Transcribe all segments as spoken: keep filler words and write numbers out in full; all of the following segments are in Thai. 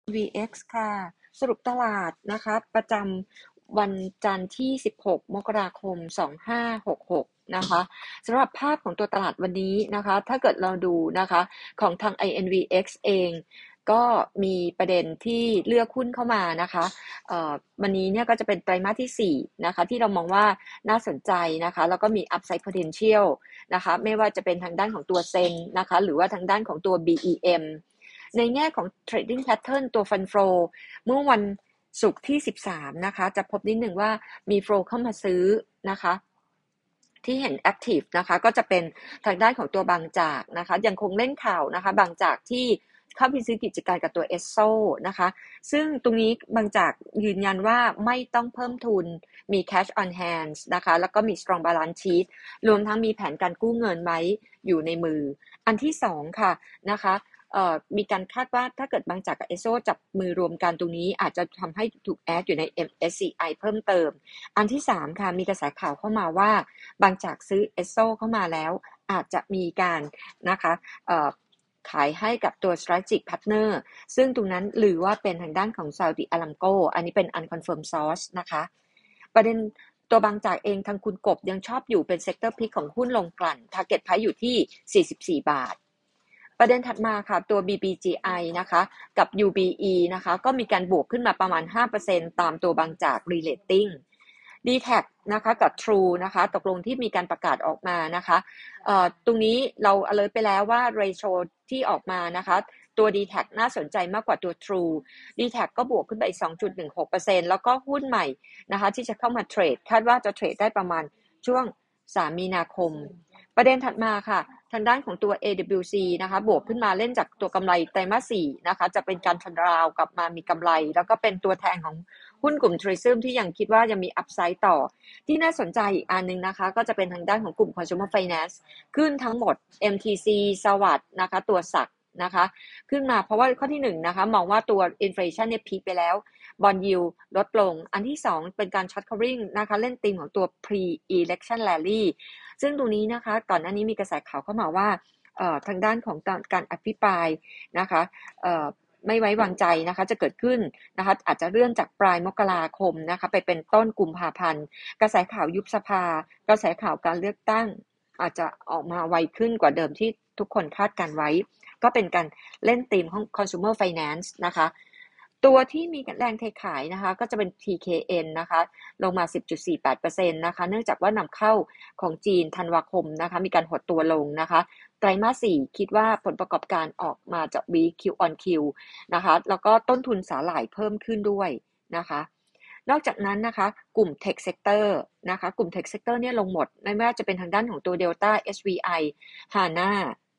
วี เอ็กซ์ ค่ะสรุปตลาดนะคะประจำวันจันทร์ที่สิบหกมกราคมสองพันห้าร้อยหกสิบหกนะคะสำหรับภาพของตัวตลาดวันนี้นะคะถ้าเกิดเราดูนะคะของทาง ไอ เอ็น วี เอ็กซ์ เองก็มีประเด็นที่เลือกหุ้นเข้ามานะคะวันนี้เนี่ยก็จะเป็นไตรมาสที่สี่นะคะที่เรามองว่าน่าสนใจนะคะแล้วก็มี upside potential นะคะไม่ว่าจะเป็นทางด้านของตัวเซ็งนะคะหรือว่าทางด้านของตัว บี อี เอ็ม ในแง่ของ trading pattern ตัว fund flow เมื่อวันศุกร์ที่สิบสามนะคะจะพบนิดหนึ่งว่ามี flow เข้ามาซื้อนะคะที่เห็น active นะคะก็จะเป็นทางด้านของตัวบางจากนะคะยังคงเล่นข่าวนะคะบางจากที่เข้าไปซื้อกิจการกับตัว เอส โซ นะคะซึ่งตรงนี้บางจากยืนยันว่าไม่ต้องเพิ่มทุนมี cash on hand นะคะแล้วก็มี strong balance sheet รวมทั้งมีแผนการกู้เงินไว้อยู่ในมืออันที่สองค่ะนะคะมีการคาดว่าถ้าเกิดบางจากกับ เอส โอ จับมือรวมกันตรงนี้อาจจะทำให้ถูกแอดอยู่ใน เอ็ม เอส ซี ไอ เพิ่มเติมอันที่สามค่ะมีกระแสข่าวเข้ามาว่าบางจากซื้อ เอส โอ เข้ามาแล้วอาจจะมีการนะคะขายให้กับตัว strategic partner ซึ่งตรงนั้นหรือว่าเป็นทางด้านของ Saudi Aramco อันนี้เป็น unconfirmed source นะคะประเด็นตัวบางจากเองทางคุณกบยังชอบอยู่เป็น sector pick ของหุ้นลงกลั่น target price อยู่ที่สี่สิบสี่บาทประเด็นถัดมาค่ะตัว บี บี จี ไอ นะคะกับ ยู บี อี นะคะก็มีการบวกขึ้นมาประมาณ ห้าเปอร์เซ็นต์ ตามตัวบางจาก relating ดี ที เอ ซี นะคะกับ True นะคะตกลงที่มีการประกาศออกมานะคะตรงนี้เรา alert ไปแล้วว่า ratio ที่ออกมานะคะตัว ดี ที เอ ซี น่าสนใจมากกว่าตัว True ดี ที เอ ซี ก็บวกขึ้นไปอีก สองจุดหนึ่งหกเปอร์เซ็นต์ แล้วก็หุ้นใหม่นะคะที่จะเข้ามาเทรดคาดว่าจะเทรดได้ประมาณช่วงสามมีนาคมประเด็นถัดมาค่ะทางด้านของตัว เอ ดับเบิลยู ซี นะคะบวกขึ้นมาเล่นจากตัวกำไรไตรมาสสี่นะคะจะเป็นการทันราวกลับมามีกำไรแล้วก็เป็นตัวแทนของหุ้นกลุ่ม Tourism ที่ยังคิดว่ายังมีอัพไซด์ต่อที่น่าสนใจอีกอันนึงนะคะก็จะเป็นทางด้านของกลุ่ม Consumer Finance ขึ้นทั้งหมด เอ็ม ที ซี สวัสด์นะคะตัวสักนะคะขึ้นมาเพราะว่าข้อที่หนึ่งนะคะมองว่าตัว inflation เนี่ยพีคไปแล้วบอนด์ยิลด์ลดลงอันที่สองเป็นการ short covering นะคะเล่นธีมของตัว pre election rally ซึ่งตรงนี้นะคะก่อนหน้านี้มีกระแสข่าวเข้ามาว่าทางด้านของการอภิปรายนะคะไม่ไว้วางใจนะคะจะเกิดขึ้นนะคะอาจจะเลื่อนจากปลายมกราคมนะคะไปเป็นต้นกุมภาพันธ์กระแสข่าวยุบสภากระแสข่าวการเลือกตั้งอาจจะออกมาไวขึ้นกว่าเดิมที่ทุกคนคาดการไว้ก็เป็นการเล่นธีมของ consumer finance นะคะตัวที่มีแรงเทขายนะคะก็จะเป็น ที เค เอ็น นะคะลงมา สิบจุดสี่แปดเปอร์เซ็นต์ นะคะเนื่องจากว่านำเข้าของจีนธันวาคมนะคะมีการหดตัวลงนะคะไตรมาสสี่คิดว่าผลประกอบการออกมาจะ weak Q on Q นะคะแล้วก็ต้นทุนสาหร่ายเพิ่มขึ้นด้วยนะคะนอกจากนั้นนะคะกลุ่ม Tech Sector นะคะกลุ่ม Tech Sector เนี่ยลงหมดไม่ว่าจะเป็นทางด้านของตัว Delta เอช วี ไอ Hana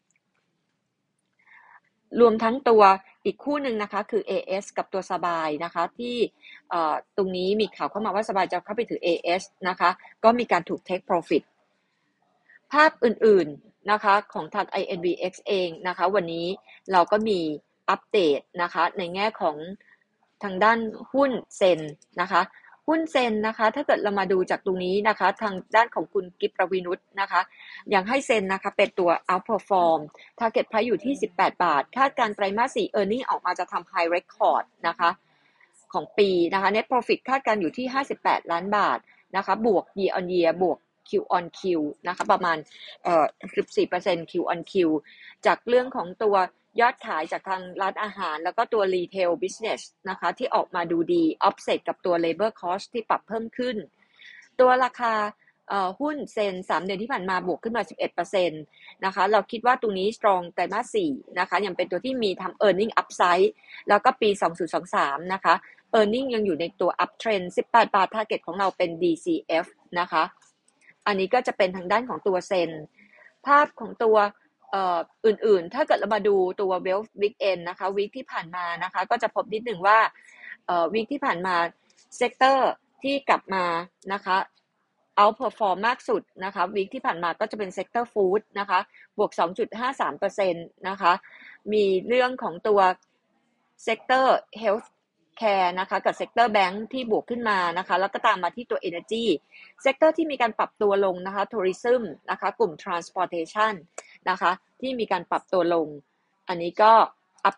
รวมทั้งตัวอีกคู่หนึ่งนะคะคือ เอ เอส กับตัวสบายนะคะที่ตรงนี้มีข่าวเข้ามาว่าสบายจะเข้าไปถือ เอ เอส นะคะก็มีการถูก take profit ภาพอื่นๆนะคะของทาง ไอ เอ็น วี เอ็กซ์ เองนะคะวันนี้เราก็มีอัปเดตนะคะในแง่ของทางด้านหุ้นเซ็นนะคะหุ้นเซ็นนะคะถ้าเกิดเรามาดูจากตรงนี้นะคะทางด้านของคุณกิฟประวินุชนะคะยังให้เซ็นนะคะเป็นตัว outperform target price อยู่ที่สิบแปดบาทคาดการไตรมาสสี่ earning ออกมาจะทำ high record นะคะของปีนะคะ net profit คาดการอยู่ที่ห้าสิบแปดล้านบาทนะคะบวก year on year บวก Q on Q นะคะประมาณเอ่อ สิบสี่เปอร์เซ็นต์ Q on Q จากเรื่องของตัวยอดขายจากทางร้านอาหารแล้วก็ตัว retail business นะคะที่ออกมาดูดี offset กับตัว labor cost ที่ปรับเพิ่มขึ้นตัวราคาหุ้นเซ็นสามเดือนที่ผ่านมาบวกขึ้นมา สิบเอ็ดเปอร์เซ็นต์ นะคะเราคิดว่าตรงนี้ strong ไตรมาสสี่นะคะยังเป็นตัวที่มีทำ earning upside แล้วก็ปีสองพันยี่สิบสามนะคะ earning ยังอยู่ในตัว uptrend สิบแปดบาท target ของเราเป็น ดี ซี เอฟ นะคะอันนี้ก็จะเป็นทางด้านของตัวเซ็นภาพของตัวเอ่ออื่นๆถ้าเกิดเรามาดูตัว Wealth Weekend นะคะ week ที่ผ่านมานะคะก็จะพบนิดหนึ่งว่าเอ่อ week ที่ผ่านมาเซกเตอร์ที่กลับมานะคะoutperform มากสุดนะคะ week ที่ผ่านมาก็จะเป็น sector food นะคะบวก สองจุดห้าสามเปอร์เซ็นต์ นะคะมีเรื่องของตัว sector health care นะคะกับ sector bank ที่บวกขึ้นมานะคะแล้วก็ตามมาที่ตัว energy sector ที่มีการปรับตัวลงนะคะ tourism นะคะกลุ่ม transportation นะคะที่มีการปรับตัวลงอันนี้ก็อัปเดต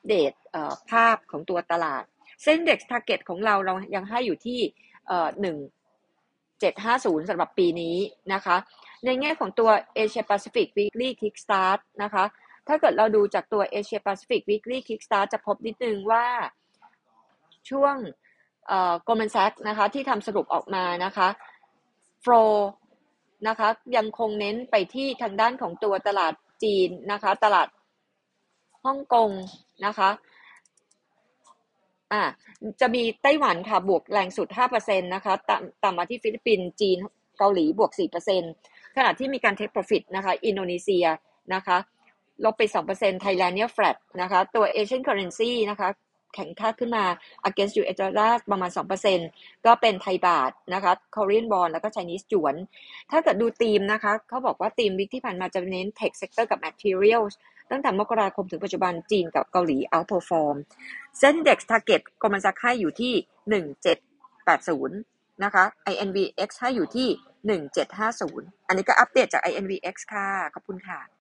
เอ่อภาพของตัวตลาดเส้น Index Target ของเราเรายังให้อยู่ที่เอ่อหนึ่งพันเจ็ดร้อยห้าสิบสำหรับปีนี้นะคะในแง่ของตัว Asia Pacific Weekly Kickstart นะคะถ้าเกิดเราดูจากตัว Asia Pacific Weekly Kickstart จะพบนิดนึงว่าช่วงเอ่อ Goldman Sachs นะคะที่ทำสรุปออกมานะคะ flow นะคะยังคงเน้นไปที่ทางด้านของตัวตลาดจีนนะคะตลาดฮ่องกงนะคะอ่าจะมีไต้หวันค่ะบวกแรงสุด ห้าเปอร์เซ็นต์ นะคะตามตามมาที่ฟิลิปปินส์จีนเกาหลีบวก สี่เปอร์เซ็นต์ ขณะที่มีการ take profit นะคะอินโดนีเซียนะคะลบไป สองเปอร์เซ็นต์ ไทยแลนด์เนี่ย flat นะคะตัว Asian currency นะคะแข็งค่าขึ้นมา against ยู เอส dollar ประมาณ สองเปอร์เซ็นต์ ก็เป็นไทยบาทนะคะ Korean won แล้วก็ Chinese หยวนถ้าเกิดดูธีมนะคะเขาบอกว่าธีมวิกที่ผ่านมาจะเน้น tech sector กับ materials ตั้งแต่มกราคมถึงปัจจุบันจีนกับเกาหลี outperform เส้น Index Target กำลังจะให้อยู่ที่หนึ่งพันเจ็ดร้อยแปดสิบนะคะ ไอ เอ็น วี เอ็กซ์ ให้อยู่ที่หนึ่งพันเจ็ดร้อยห้าสิบอันนี้ก็อัปเดตจาก ไอ เอ็น วี เอ็กซ์ ค่ะขอบคุณค่ะ